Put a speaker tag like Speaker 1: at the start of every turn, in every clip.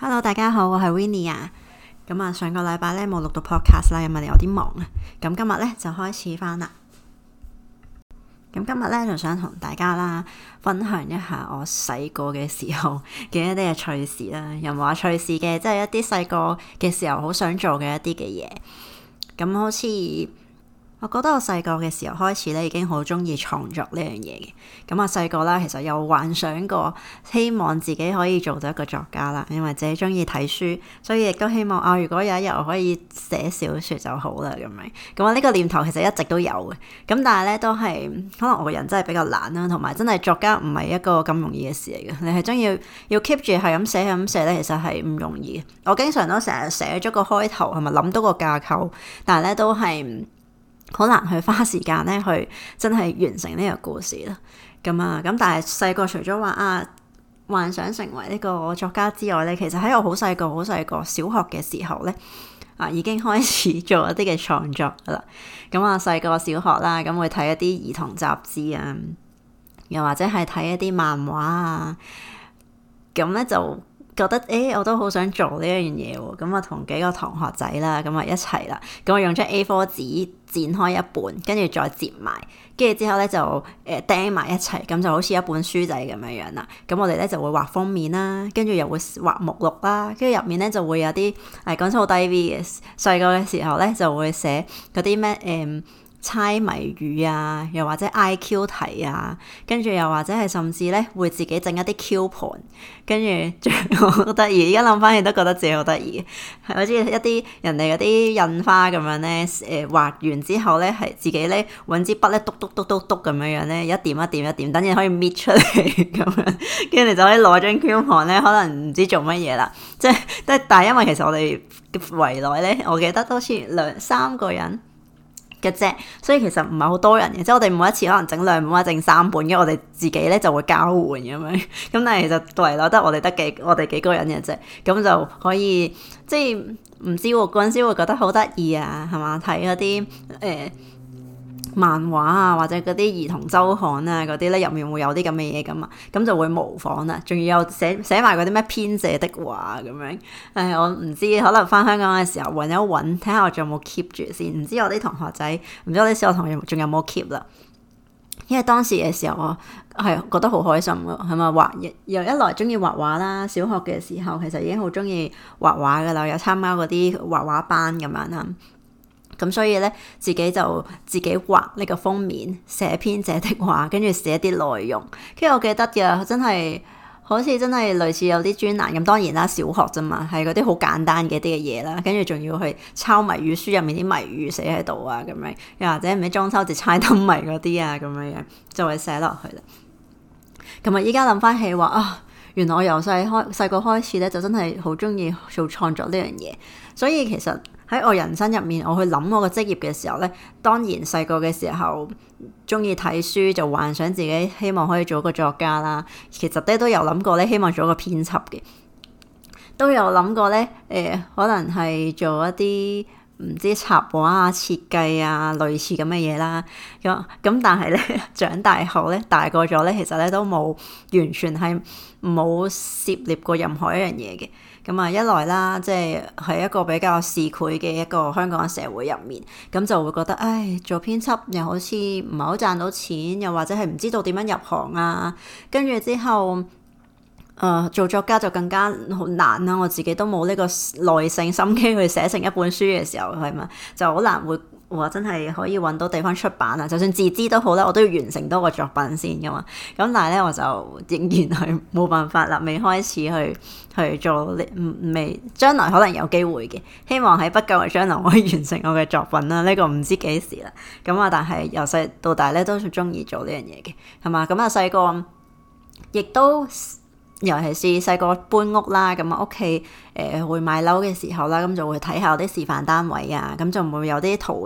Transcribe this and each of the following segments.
Speaker 1: Hello，大家好，我係 Winnie 啊。咁啊，上個禮拜咧冇錄到 podcast 啦，因為有啲忙啊。咁今日咧就開始翻啦。咁今日咧就想同大家啦分享一下我細個嘅時候嘅一啲嘅趣事啦。又冇話趣事嘅，即係一啲細個嘅時候好想做嘅一啲嘅嘢。咁好似我覺得我細個嘅時候開始咧已經好中意創作呢樣嘢嘅。咁我細個啦，其實有幻想過希望自己可以做到一個作家啦，因為自己中意睇書，所以亦都希望如果有一日我可以寫小說就好啦咁樣。咁我呢個念頭其實一直都有嘅。咁但係咧都係可能我個人真係比較懶啦，同埋真係作家唔係一個咁容易嘅事嚟嘅。你係真要 keep 住係咁寫係咁寫咧，其實係唔容易嘅。我經常都成日寫咗個開頭，係咪諗到個架構，但係咧都係好難去花時間咧去真係完成呢個故事啦。咁但係細個除咗話幻想成為呢個作家之外咧，其實喺我好細個小學嘅時候咧已經開始做一啲嘅創作噶啦。細個小學啦，咁會睇一啲兒童雜誌啊，又或者係睇一啲漫畫啊，咁咧就覺得我都好想做呢一樣嘢喎。咁同幾個同學仔啦，咁一齊啦，咁我用張 A4 紙剪開一半，跟住再摺埋，跟住之後咧就釘埋一齊，咁就好似一本書仔咁樣啦。咁我哋咧就會畫封面啦，跟住又會畫目錄啦，跟住入面咧就會有啲講出好低 V 嘅。細個嘅時候咧就會寫嗰啲咩猜謎語啊，又或者 IQ 題啊，跟住又或者係甚至咧會自己整一啲 coupon， 跟住好得意。而家諗翻起都覺得自己好得意，係好似一啲人哋嗰啲印花咁樣咧，畫完之後咧係自己咧揾支筆咧篤咁樣咧，一點一點一點，等陣可以搣出嚟咁樣，跟住就可以攞張 coupon 咧，可能唔知做乜嘢啦。但係因為其實我哋圍內咧，我記得好似2-3個人嘅啫，所以其實唔係好多人嘅，即係我哋每一次可能整2本或者整3本，跟住我哋自己咧就會交換咁樣。咁但係其實圍內得我哋幾個人嘅啫，咁就可以即係唔知喎，嗰陣時會覺得好得意啊，係嘛？睇嗰啲漫畫啊，或者嗰啲兒童周刊啊，嗰啲咧入面會有啲咁嘅嘢咁啊，咁就會模仿啦，仲要有寫埋嗰啲咩編者的話咁樣。我唔知，可能翻香港嘅時候揾一揾，睇下我仲有冇 keep 住先。唔知我啲同學仔，唔知我啲小學同學仲有冇 keep 啦。因為當時嘅時候我係覺得好開心噶，係咪又一來中意畫畫啦，小學嘅時候其實已經好中意畫畫噶啦，有參加嗰啲畫畫班咁樣啦。咁所以咧，自己就自己畫呢個封面，寫編者的話，跟住寫啲內容。跟住我記得嘅，真係好似真係類似有啲專欄咁。當然啦，小學啫嘛，係嗰啲好簡單嘅啲嘅嘢啦。跟住仲要去抄謎語書入面啲謎語寫喺度啊，咁樣又或者唔知中秋節猜燈謎嗰啲啊，咁樣就會寫落去啦。咁依家諗翻起話原來我由細個開始咧，就真係好中意做創作呢樣嘢。所以其實喺我人生入面，我去諗我個職業嘅時候咧，當然細個嘅時候中意睇書，就幻想自己希望可以做一個作家啦。其實咧都有諗過咧，希望做一個編輯嘅，都有諗過咧可能係做一啲唔知插畫啊、設計啊類似咁嘅嘢啦。咁但係咧長大後咧，大個咗咧，其實咧都冇完全係冇涉獵過任何一樣嘢嘅。一來啦，即係一個比較市儈嘅一個香港社會入面，咁就會覺得做編輯又好似唔係好賺到錢，又或者係唔知道點樣入行啊。跟住之後做作家就更加好難啦。我自己都冇呢個耐性心機去寫成一本書嘅時候，係咪就好難會話真係可以揾到地方出版啊？就算自資都好啦，我都要完成多個作品先噶嘛。咁但係咧，我就仍然係冇辦法啦，未開始去做，未將來可能有機會嘅，希望喺不久嘅將來我可以完成我嘅作品啦。呢個唔知幾時啦。但係由細到大咧都中意做呢樣嘢嘅，係嘛？細個亦都。尤其是細個搬屋啦，屋企會買樓嘅時候啦，咁就會睇下啲示範單位啊，咁就會有啲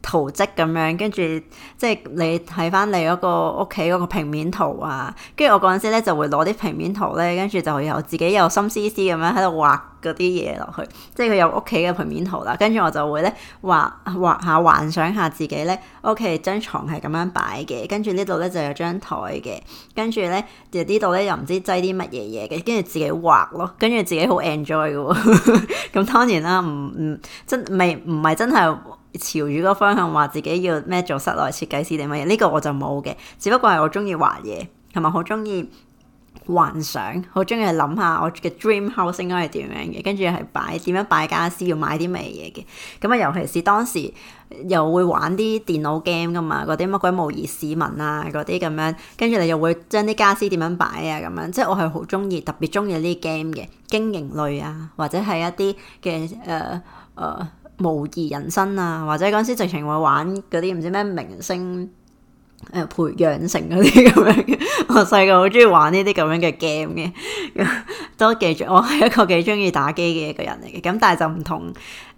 Speaker 1: 圖蹟咁樣，跟住即係你睇翻你嗰個屋企嗰個平面圖啊，跟住我嗰陣時咧就會攞啲平面圖咧，跟住就有自己有心思思咁樣喺度畫嗰啲嘢落去，即係佢有屋企嘅平面圖啦，跟住我就會咧畫下幻想下自己咧屋企張床係咁樣擺嘅，跟住呢度咧就有張台嘅，跟住咧就呢度咧又唔知擠啲乜嘢嘢嘅，跟住自己畫咯，跟住自己好 enjoy 嘅喎，咁當然啦，唔係真係朝住嗰個方向話自己要咩做室內設計師定乜嘢，呢個我就冇嘅，只不過係我中意畫嘢，同埋好中意幻想，好中意諗下我嘅 dream house 應該係點樣嘅，跟住係點樣擺家私，要買啲咩嘢嘅。咁啊，尤其是當時又會玩啲電腦 game 噶嘛，嗰啲乜鬼模擬市民啊嗰啲咁樣，跟住你又會將啲家私點樣擺啊咁樣，即係我係好中意，特別中意呢啲 game 嘅經營類啊，或者係一啲嘅模擬人生啊，或者嗰陣時直情會玩嗰啲唔知咩明星培養成嗰啲咁樣嘅，我細個好中意玩呢啲咁樣嘅 game 嘅，都記住我係一個幾中意打機嘅一個人嚟嘅，咁但係就唔同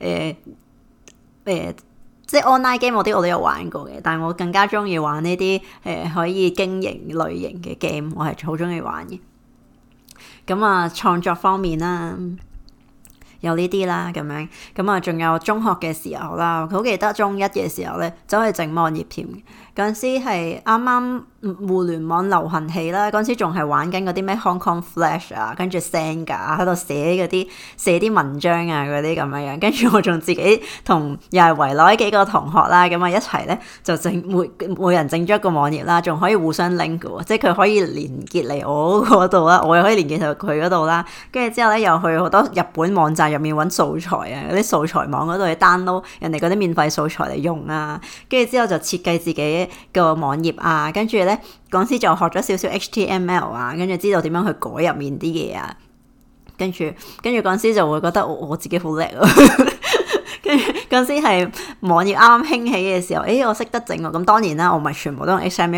Speaker 1: 即係 online game 嗰啲我都有玩過嘅，但係我更加中意玩呢啲可以經營類型嘅 game， 我係好中意玩嘅。咁啊，創作方面啦。有呢啲啦咁樣，咁啊仲有中學嘅時候啦，好記得中一嘅時候咧，走去整網頁添。嗰陣時係啱啱互聯網流行起啦，嗰陣時仲係玩緊嗰啲咩 Hong Kong Flash 啊，跟住 Xanga 喺度寫啲文章啊嗰啲咁樣樣，跟住我仲自己同又係圍內幾個同學啦，咁啊一齊咧就每人整咗一個網頁啦，仲可以互相 link 嘅喎，即係佢可以連結嚟我嗰度啦，我又可以連結到佢嗰度啦，跟住之後咧又去好多日本網站入面揾素材啊，嗰啲素材網嗰度去 download 人哋嗰啲免費素材嚟用啊，跟住之後就設計自己個網頁啊，跟住咧嗰陣時就學咗少少 HTML 啊，跟住知道點樣去改入面啲嘢啊，跟住嗰陣時就會覺得我自己好叻啊！跟住嗰陣時係網頁啱啱興起嘅時候，我識得整喎。咁當然啦，我唔係全部都用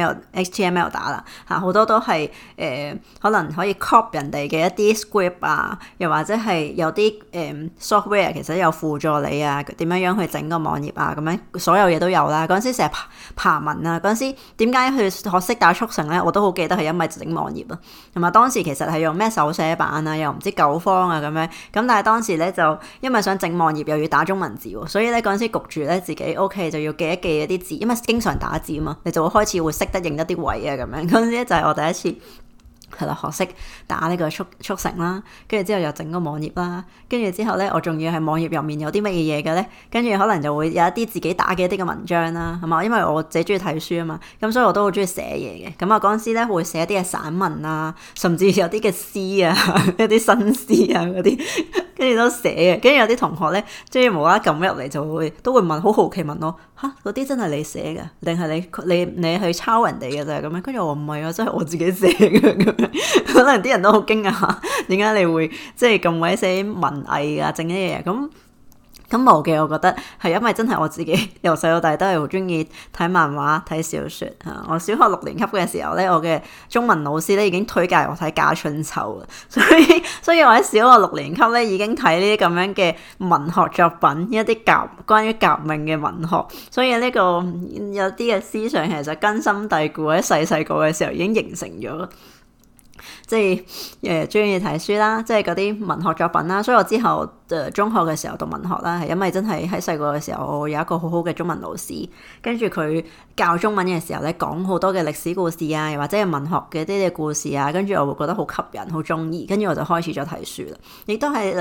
Speaker 1: HTML 打啦，好多都係可能可以 copy 人哋嘅一啲 script 啊，又或者係有啲software 其實有輔助你啊，點樣去整個網頁啊，咁樣所有嘢都有啦。嗰陣時成日爬文啊，嗰陣時點解去學識打速成咧？我都好記得係因為整網頁啊，同埋當時其實係用咩手寫版啊，又唔知9方啊咁樣。咁但係當時咧就因為想整網頁又要打中文字，所以咧嗰陣時焗住咧自己 OK 就要記一記一啲字，因為經常打字啊嘛，你就會開始會識得認得啲位啊咁樣。嗰陣時咧就係我第一次係啦，學識打呢個速成啦，跟住之後又整個網頁啦，跟住之後咧我仲要係網頁入面有啲乜嘢嘢嘅咧，跟住可能就會有一啲自己打嘅一啲嘅文章啦，係嘛？因為我自己中意睇書啊嘛，咁所以我都好中意寫嘢嘅。咁啊嗰陣時咧會寫一啲嘅散文啊，甚至有啲嘅詩啊，一啲新詩啊嗰啲。跟住都寫嘅，跟住有啲同學咧，即係無啦啦撳入嚟就都會問，好好奇問我吓，嗰啲真係你寫嘅，定係你去抄人哋嘅啫咁樣？跟住我話唔係啊，真係我自己寫嘅咁樣。可能啲人都好驚訝，點解你會即係咁鬼死文藝啊，整啲嘢咁冇嘅，我覺得係因為真係我自己由細到大都係好中意睇漫畫睇小說嚇。我小學6年級嘅時候咧，我嘅中文老師咧已經推介我睇《家春秋》啦，所以我喺小學6年級咧已經睇呢啲咁樣嘅文學作品，一啲關於革命嘅文學，所以呢個有啲嘅思想其實根深蒂固喺細個嘅時候已經形成咗。即係中意睇書啦，即係嗰啲文學作品啦，所以我之後中學嘅時候讀文學啦，係因為真係喺細個嘅時候我有一個好好嘅中文老師，跟住佢教中文嘅時候咧講好多嘅歷史故事啊，又或者係文學嘅啲嘅故事啊，跟住我會覺得好吸引，好中意，跟住我就開始咗睇書啦。亦都係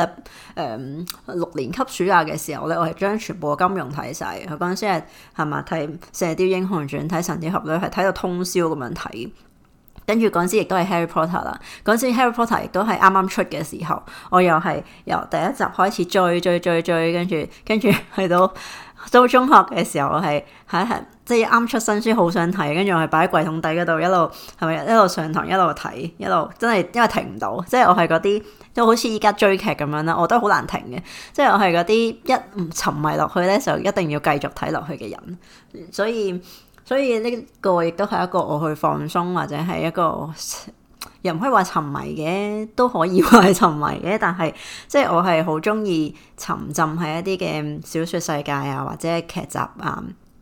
Speaker 1: 6年級暑假嘅時候咧，我係將全部嘅金庸睇晒嘅。佢嗰陣時係咪睇《射雕英雄傳》睇《神鵰俠侶》係睇到通宵咁樣睇。跟住嗰陣時亦都係 Harry Potter 啦，嗰陣時 Harry Potter 亦都係啱啱出嘅時候，我又係由第一集開始追，跟住去到中學嘅時候，我係即係啱出新書好想睇，跟住我係擺喺櫃桶底嗰度一路上堂一路睇，一路真係因為停唔到，即係我係嗰啲都好似依家追劇咁樣啦，我都好難停嘅，即係我係嗰啲一唔沉迷落去咧就一定要繼續睇落去嘅人，所以呢個亦都係一個我去放鬆或者係一個又唔可以話沉迷嘅，都可以話係沉迷嘅，但係即係我係好中意沉浸喺一啲嘅小說世界啊或者劇集啊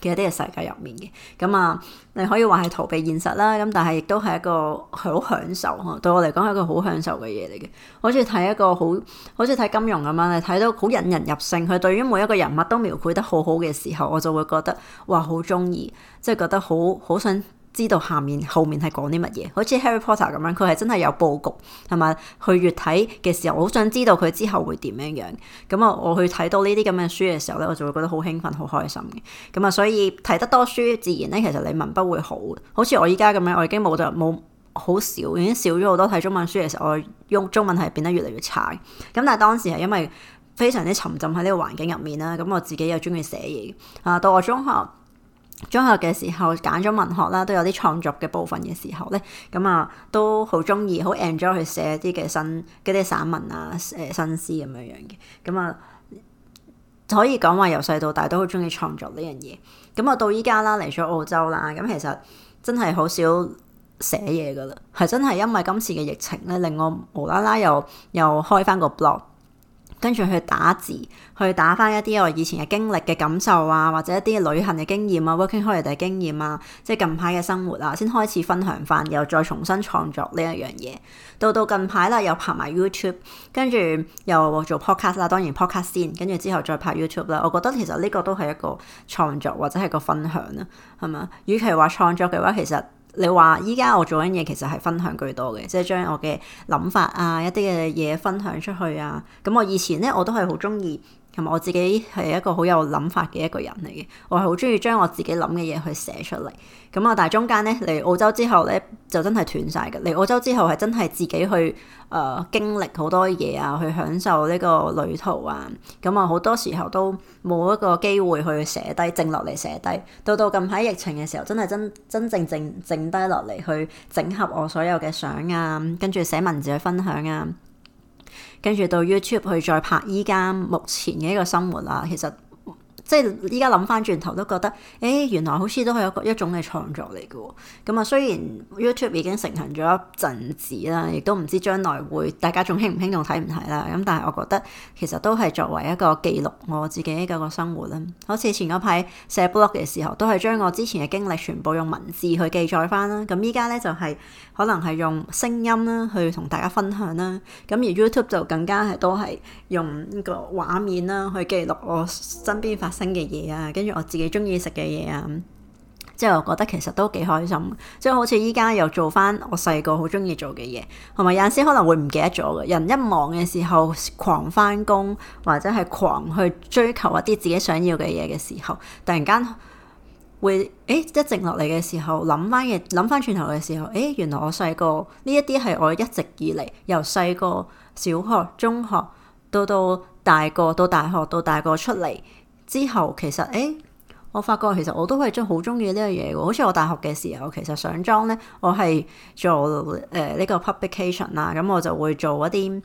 Speaker 1: 嘅一啲嘅世界入面嘅。咁啊，你可以話係逃避現實啦，咁但係亦都係一個好享受，對我嚟講係一個好享受嘅嘢嚟嘅。好似睇一個好似睇金庸咁樣，你睇到好引人入勝，佢對於每一個人物都描繪得好好嘅時候，我就會覺得哇好中意，即係覺得好想知道後面係講啲乜嘢。好似 Harry Potter 咁樣，佢係真係有佈局，係咪？去越睇嘅時候，我好想知道佢之後會點樣樣。咁啊，我去睇到呢啲咁嘅書嘅時候咧，我就會覺得好興奮、好開心嘅。咁啊，所以睇得多書，自然咧其實你文筆會好。好似我依家咁樣，我已經冇好少，已經少咗好多睇中文書嘅時候，我用中文係變得越嚟越差。咁但係當時係因為非常之沉浸喺呢個環境入面啦，咁我自己又中意寫嘢啊。到我中學嘅時候揀咗文學啦，都有啲創作嘅部分嘅時候咧，咁啊都好中意，好 enjoy 去寫啲嘅嗰啲散文啊，新詩咁樣樣嘅。咁啊可以講話由細到大都好中意創作呢樣嘢。咁啊到依家啦，嚟咗澳洲啦，咁其實真係好少寫嘢噶啦，係真係因為今次嘅疫情咧，令我無啦啦又開翻個 blog。跟住去打字，去打翻一啲我以前嘅經歷嘅感受啊，或者一啲旅行嘅經驗啊 working holiday 經驗啊，即係近排嘅生活啊，先開始分享翻，又再重新創作呢一樣嘢。到近排啦，又拍埋 YouTube， 跟住又做 podcast 啦，當然 podcast 先，跟住之後再拍 YouTube 啦。我覺得其實呢個都係一個創作或者係個分享啦，係嘛？與其話創作嘅話，其實你話依家我做緊嘢其實係分享居多嘅，即係將我嘅諗法啊，一啲嘅嘢分享出去啊。咁我以前咧我都係好中意，同埋我自己係一個好有諗法嘅一個人嚟嘅，我係好中意將我自己諗嘅嘢去寫出嚟。咁啊，但係中間咧嚟澳洲之後咧就真係斷晒嘅。嚟澳洲之後係真係自己去經歷好多嘢啊，去享受呢個旅途啊。咁啊好多時候都冇一個機會去寫低，靜落嚟寫低。到近排疫情嘅時候，真係真正靜低落嚟去整合我所有嘅相啊，跟住寫文字去分享啊，跟住到 YouTube 去再拍依家目前嘅一個生活啊。其實即係依家諗翻轉頭都覺得，原來好似都係一種嘅創作嚟嘅喎。咁啊，雖然 YouTube 已經成行咗一陣子啦，亦都唔知將來會大家仲興唔興仲睇唔睇啦。咁但係我覺得其實都係作為一個記錄我自己嘅個生活啦。好似前嗰排寫 blog 嘅時候，都係將我之前嘅經歷全部用文字去記載翻啦。咁依家咧就係可能係用聲音啦去同大家分享啦。咁而 YouTube 就更加係都係用呢個畫面啦去記錄我身邊發生嘅嘢啊，跟住我自己中意食嘅嘢啊，即係我覺得其實都幾開心。即係好似依家又做翻我細個好中意做嘅嘢，同埋有陣時可能會唔記得咗嘅。人一忙嘅時候，狂翻工或者係狂去追求一啲自己想要嘅嘢嘅時候，突然間會一靜落嚟嘅時候，諗翻轉頭嘅時候，原來我細個呢一啲係我一直以嚟由細個小學、中學到大個到大學到大個出嚟之後，其實我發覺其實我都係好中意呢樣嘢喎。好似我大學嘅時候，其實上莊咧，我係做呢個 publication 啦，咁我就會做一啲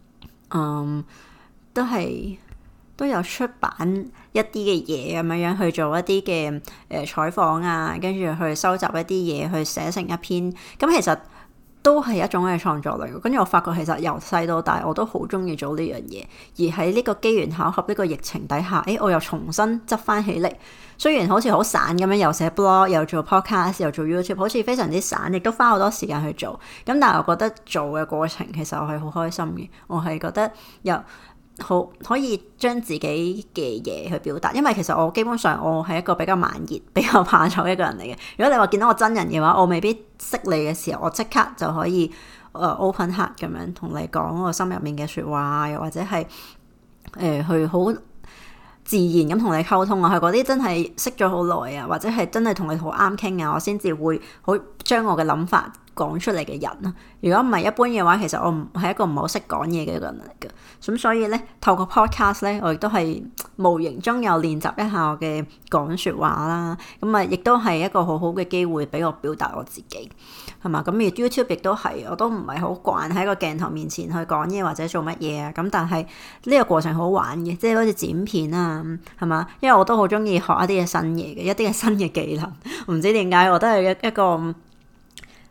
Speaker 1: 都有出版一啲嘅嘢咁樣去做一啲嘅採訪啊，跟住去收集一啲嘢去寫成一篇。咁其實都係一種嘅創作嚟嘅。跟住我發覺其實由細到大我都好中意做呢樣嘢，而喺呢個機緣巧合呢個疫情底下，我又重新執翻起嚟。雖然好似好散咁樣，又寫 blog 又做 podcast 又做 YouTube， 好似非常之散，亦都花好多時間去做。咁但係我覺得做嘅過程其實我係好開心嘅，我係覺得好可以將自己嘅嘢去表達。因為其實我基本上我係一個比較慢熱、比較怕醜一個人嚟嘅。如果你話見到我真人嘅話，我未必識你嘅時候，我即刻就可以open heart 咁樣同你講我心入面嘅說話，又或者係去好自然咁同你溝通啊。係嗰啲真係識咗好耐啊，或者係真係同你好啱傾啊，我先至會好將我嘅諗法講出嚟嘅人啊。如果唔係一般嘅話，其實我唔係一個唔好識講嘢嘅一個人嚟嘅。咁所以咧，透過 podcast 咧，我亦都係無形中有練習一下我嘅講說話啦。咁啊，亦都係一個好好嘅機會俾我表達我自己，係嘛？咁而 YouTube 亦都係，我都唔係好慣喺個鏡頭面前去講嘢或者做乜嘢啊。咁但係呢個過程好玩嘅，即係好似剪片啊，係嘛？因為我都好中意學一啲嘅新嘢嘅，一啲嘅新嘅技能。唔知點解我都係一個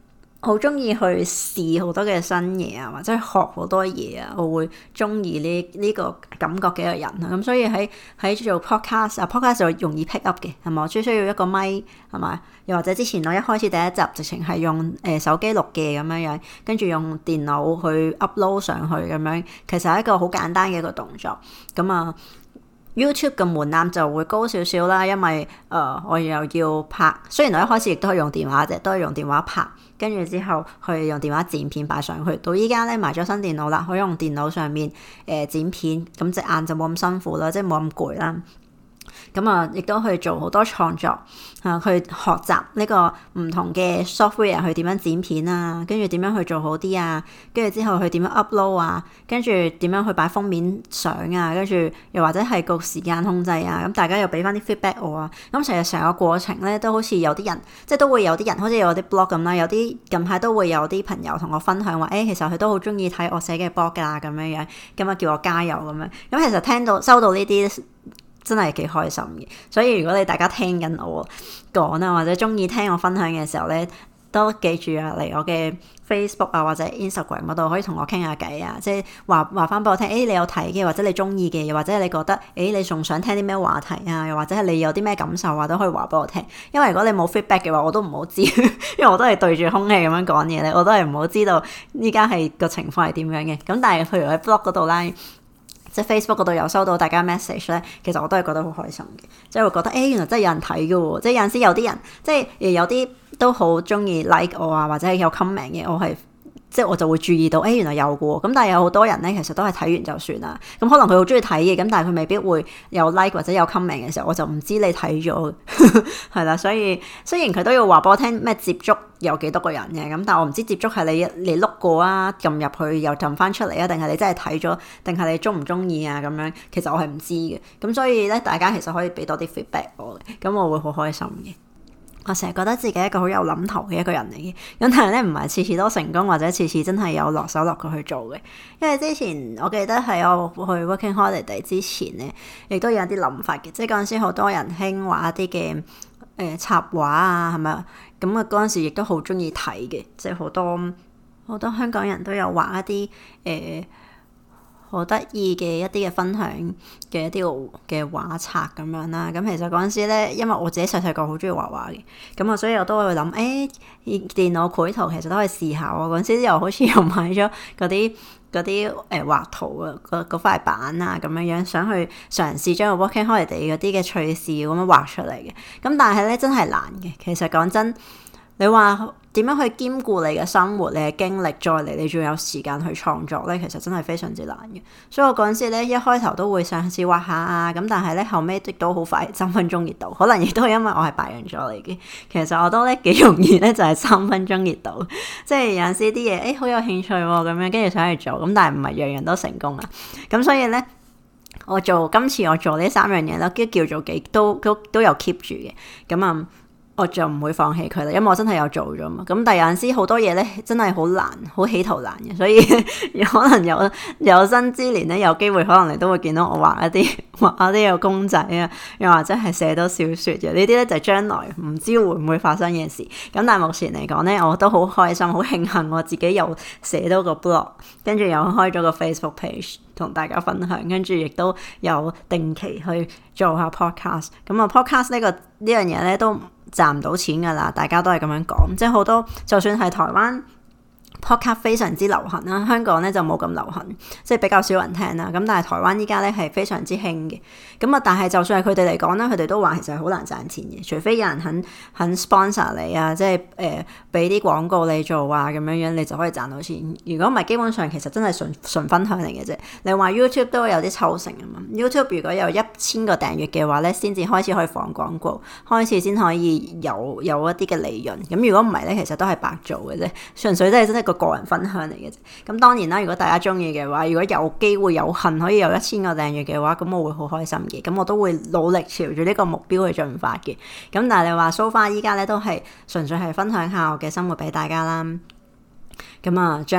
Speaker 1: 好中意去試好多嘅新嘢啊，或者學好多嘢啊，我會中意呢個感覺嘅一個人啊。咁所以喺做 podcast 就容易 pick up 嘅，係咪？我只需要一個咪，係咪？又或者之前我一開始第一集直情係用手機錄嘅咁樣樣，跟住用電腦去 upload 上去咁樣，其實係一個好簡單嘅一個動作。咁啊YouTube 嘅門檻就會高少少啦，因為我又要拍，雖然我一開始亦都係用電話啫，都係用電話拍，跟住之後去用電話剪片擺上去。到依家咧買咗新電腦啦，可以用電腦上面剪片，咁隻眼就冇咁辛苦啦，即係冇咁攰啦。咁啊，亦都去做好多創作去學習呢個唔同嘅 software 去點樣剪片啊，跟住點樣去做好啲啊，跟住之後去點樣 upload 啊，跟住點樣去擺封面相啊，跟住又或者係個時間控制啊，咁大家又俾翻啲 feedback 我啊，咁其實成個過程咧都好似有啲人，即係都會有啲人好似有啲 blog 咁啦，有啲近排都會有啲朋友同我分享話，其實佢都好中意睇我寫嘅 blog 㗎咁樣樣，咁啊叫我加油咁樣，咁其實收到呢啲真係幾開心嘅，所以如果你大家聽緊我講啊，或者中意聽我分享嘅時候咧，都記住啊嚟我嘅 Facebook 啊或者 Instagram 嗰度可以同我傾下偈啊，即係話翻俾我聽，你有睇嘅，或者你中意嘅，又或者你覺得你仲想聽啲咩話題啊，又或者係你有啲咩感受啊，都可以話俾我聽。因為如果你冇 feedback 嘅話，我都唔好知，因為我都係對住空氣咁樣講嘢咧，我都係唔好知道依家係個情況係點樣嘅。咁但係譬如喺 blog 嗰度啦，即係 Facebook 嗰度有收到大家 message 咧，其實我都係覺得好開心嘅，即係會覺得原來真係有人睇嘅喎，即係有陣時有啲人即係有啲都好中意 like 我啊，或者係有 comment 嘅，即係我就會注意到原來有嘅喎。咁但係有好多人咧，其實都係睇完就算啦。咁可能佢好中意睇嘅，咁但係佢未必會有 like 或者有 comment 嘅時候，我就唔知你睇咗係啦。所以雖然佢都要話俾我聽咩接觸有幾多個人嘅，咁但係我唔知接觸係你碌過啊，撳入去又撳翻出嚟啊，定係你真係睇咗，定係你中唔中意啊咁樣。其實我係唔知嘅。咁所以咧，大家其實可以俾多啲 feedback 我嘅，咁我會好開心嘅。我成日覺得自己係一個好有諗頭嘅一個人嚟嘅，咁但係咧唔係次次都成功，或者次次真係有落手落腳去做嘅。因為之前我記得喺我去 Working Holiday 之前咧，亦都有啲諗法嘅，即係嗰陣時好多人興畫一啲嘅插畫啊，係咪啊？咁啊嗰陣時亦都好中意睇嘅，即係好多香港人都有畫一啲好得意嘅一啲嘅分享嘅一啲嘅畫冊咁樣啦。咁其實嗰陣時咧，因為我自己細細個好中意畫畫嘅，咁啊所以我都會諗電腦繪圖其實都可以試下喎。嗰陣時又好似又買咗嗰啲畫圖啊嗰塊板啊咁樣，想去嘗試將個 Working Holiday 嗰啲嘅趣事咁樣畫出嚟嘅。咁但係咧真係難嘅。其實講真，你話點樣去兼顧你嘅生活、你嘅經歷，再嚟你仲有時間去創作咧，其實真係非常之難嘅。所以我嗰陣時咧，一開頭都會嘗試畫下啊，咁但係咧後尾亦都好快3分鐘熱度，可能亦都係因為我係白羊座嚟嘅。其實我都咧幾容易咧就係3分鐘熱度，即係有陣時啲嘢好有興趣咁樣，跟住想去做，咁但係唔係樣樣都成功啊。咁所以咧，今次我做呢3樣嘢啦，都叫做都有 keep 住嘅。咁我就唔會放棄佢啦，因為我真係有做咗嘛。咁但係有陣時好多嘢咧，真係好難，好起頭難嘅，所以可能有生之年咧，有機會可能你都會見到我畫一啲嘅公仔啊，又或者係寫到小說嘅，呢啲咧就係將來唔知會唔會發生嘅事。咁但係目前嚟講咧，我都好開心，好慶幸我自己又寫到個 blog， 跟住又開咗個 Facebook page 同大家分享，跟住亦都有定期去做下 podcast。咁podcast 呢樣嘢咧都賺唔到錢噶啦，大家都係咁樣講，即係好多就算係台灣 podcast 非常之流行啦，香港咧就冇咁流行，即係比較少人聽啦。咁但係台灣依家咧係非常之興嘅。咁但係就算係佢哋嚟講咧，佢哋都話其實係好難賺錢嘅，除非有人肯 sponsor 你啊，即係俾啲廣告你做啊，咁樣你就可以賺到錢。如果唔係，基本上其實真係純分享嚟嘅啫。你話 YouTube 都有啲抽成啊嘛。YouTube 如果有1000個訂閱嘅話咧，先至開始可以放廣告，開始先可以有一啲嘅利潤。咁如果唔係咧，其實都係白做嘅啫，純粹都係真係個人分享嚟嘅啫。咁當然啦，如果大家中意嘅話，如果有機會有幸可以有1000個訂閱嘅話，咁我會好開心嘅。咁我都會努力朝住呢個目標去進發嘅。咁但係你話 so far 依家咧都係純粹係分享下我嘅生活俾大家啦。咁將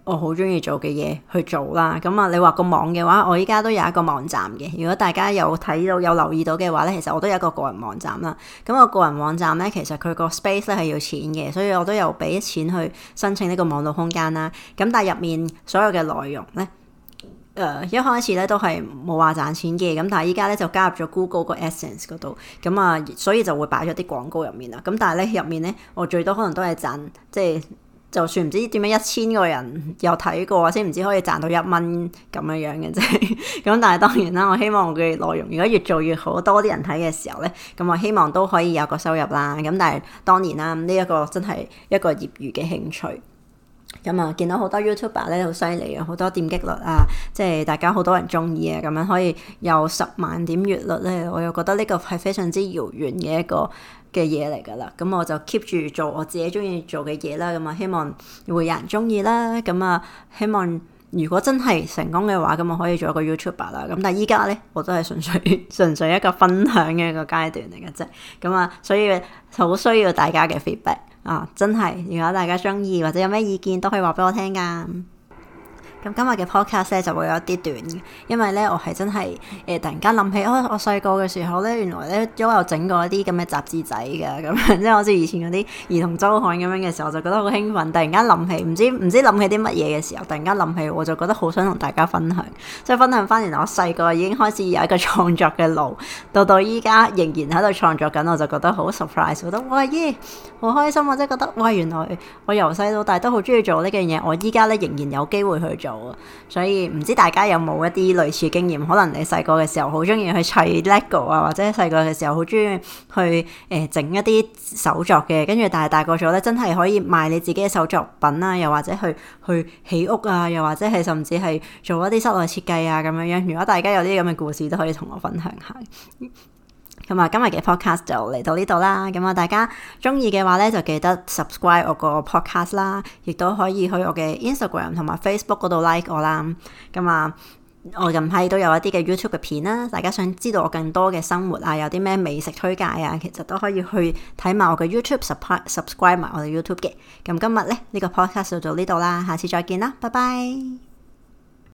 Speaker 1: 我好中意做嘅嘢去做啦。咁啊，你話個網嘅話，我依家都有一個網站嘅。如果大家有睇到有留意到嘅話咧，其實我都有一個個人網站啦。咁我個人網站咧，其實佢個 space 咧係要錢嘅，所以我都有俾錢去申請呢個網絡空間啦。咁但係入面所有嘅內容咧，一開始咧都係冇話賺錢嘅，咁但係依家咧就加入咗 Google 個 AdSense 嗰度，咁啊，所以就會擺咗啲廣告入面啦。咁但係咧入面咧，我最多可能都係賺，即係就算唔知點樣1000個人有睇過，先唔知可以賺到1蚊咁樣嘅啫。咁但係當然啦，我希望我嘅內容如果越做越好，多啲人睇嘅時候咧，咁我希望都可以有個收入啦。咁但係當然啦，呢一個真係一個業餘嘅興趣。咁啊，見到好多 YouTuber 咧好犀利啊，好多點擊率啊，即係大家好多人中意啊，咁樣可以有10萬點閱率咧，我又覺得呢個係非常之遙遠嘅一個嘅嘢嚟噶啦。咁我就 keep 住做我自己中意做嘅嘢啦。咁啊，希望會有人中意啦。咁啊，希望如果真係成功嘅話，咁我可以做一個 YouTuber 啦。咁但係依家咧，我都係純粹一個分享嘅一個階段嚟嘅啫。咁啊，所以好需要大家嘅 feedback。真係，如果大家中意或者有咩意見都可以話俾我聽噶。咁今日嘅 podcast 咧就會有一啲短嘅，因為咧我係真係突然間諗起，我細個嘅時候咧，原來咧都有整過一啲咁嘅雜誌仔嘅，咁樣即係好似以前嗰啲兒童周刊咁樣嘅時候，就覺得好興奮。突然間諗起，唔知諗起啲乜嘢嘅時候，突然間諗起，我就覺得好想同大家分享，即係分享翻原來我細個已經開始有一個創作嘅路，到依家仍然喺度創作緊，我就覺得好 surprise， 覺得哇耶，好開心啊！即係覺得哇，原來我由細到大都好中意做呢樣嘢，我依家咧仍然有機會去做。所以唔知大家有冇一啲類似經驗？可能你細個嘅時候好中意去砌 Lego 啊，或者細個嘅時候好中意去整一啲手作嘅，跟住但係大個咗咧，真係可以賣你自己嘅手作品啊，又或者去起屋啊，又或者係甚至係做一啲室內設計啊咁樣樣。如果大家有啲咁嘅故事，都可以同我分享下。咁啊，今日嘅 podcast 就嚟到呢度啦。咁啊，大家中意嘅話咧，就記得 subscribe 我個 podcast 啦，亦都可以去我嘅 Instagram 同埋 Facebook 嗰度 like 我啦。咁啊，我近排都有一啲嘅 YouTube 嘅片啦，大家想知道我更多嘅生活啊，有啲咩美食推介啊，其實都可以去睇埋我嘅 YouTube，subscribe 埋我嘅 YouTube 嘅。咁今日咧呢個 podcast 就到呢度啦，下次再見啦，拜拜。